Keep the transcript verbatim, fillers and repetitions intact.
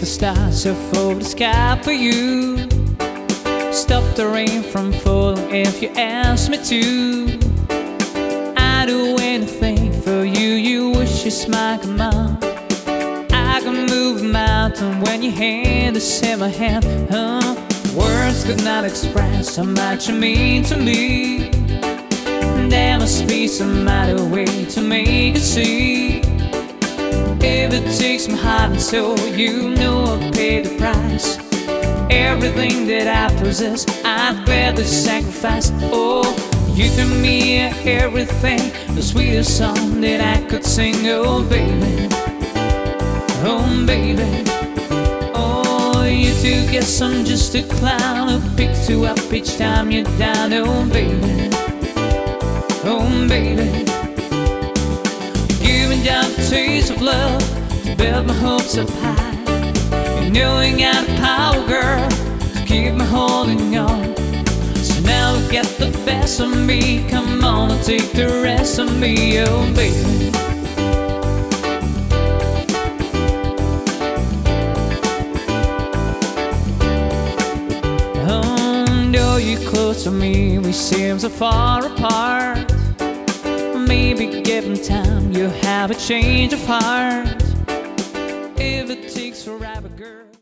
the stars so full the sky for you. Stop the rain from falling if you ask me to. I'd do anything for you, you wish you smile, come on. I can move a mountain when your hand is in my hand, huh? Words could not express how much you mean to me. There must be some other way to make it see. If it takes my heart and soul, you know I'll pay the price. Everything that I possess, I'd gladly sacrifice. Oh, you to me are everything, the sweetest song that I could sing. Oh baby, oh baby. Oh, you two guess I'm just a clown who picks you up each time you're down. Oh baby, oh baby. Giving down the taste of love to build my hopes up high. You know you got the power, girl, to keep me holding on. So now get the best of me, come on and take the rest of me, oh baby. Oh, though you're close to me, we seem so far apart. Maybe given time, you'll have a change of heart. If it takes forever, girl.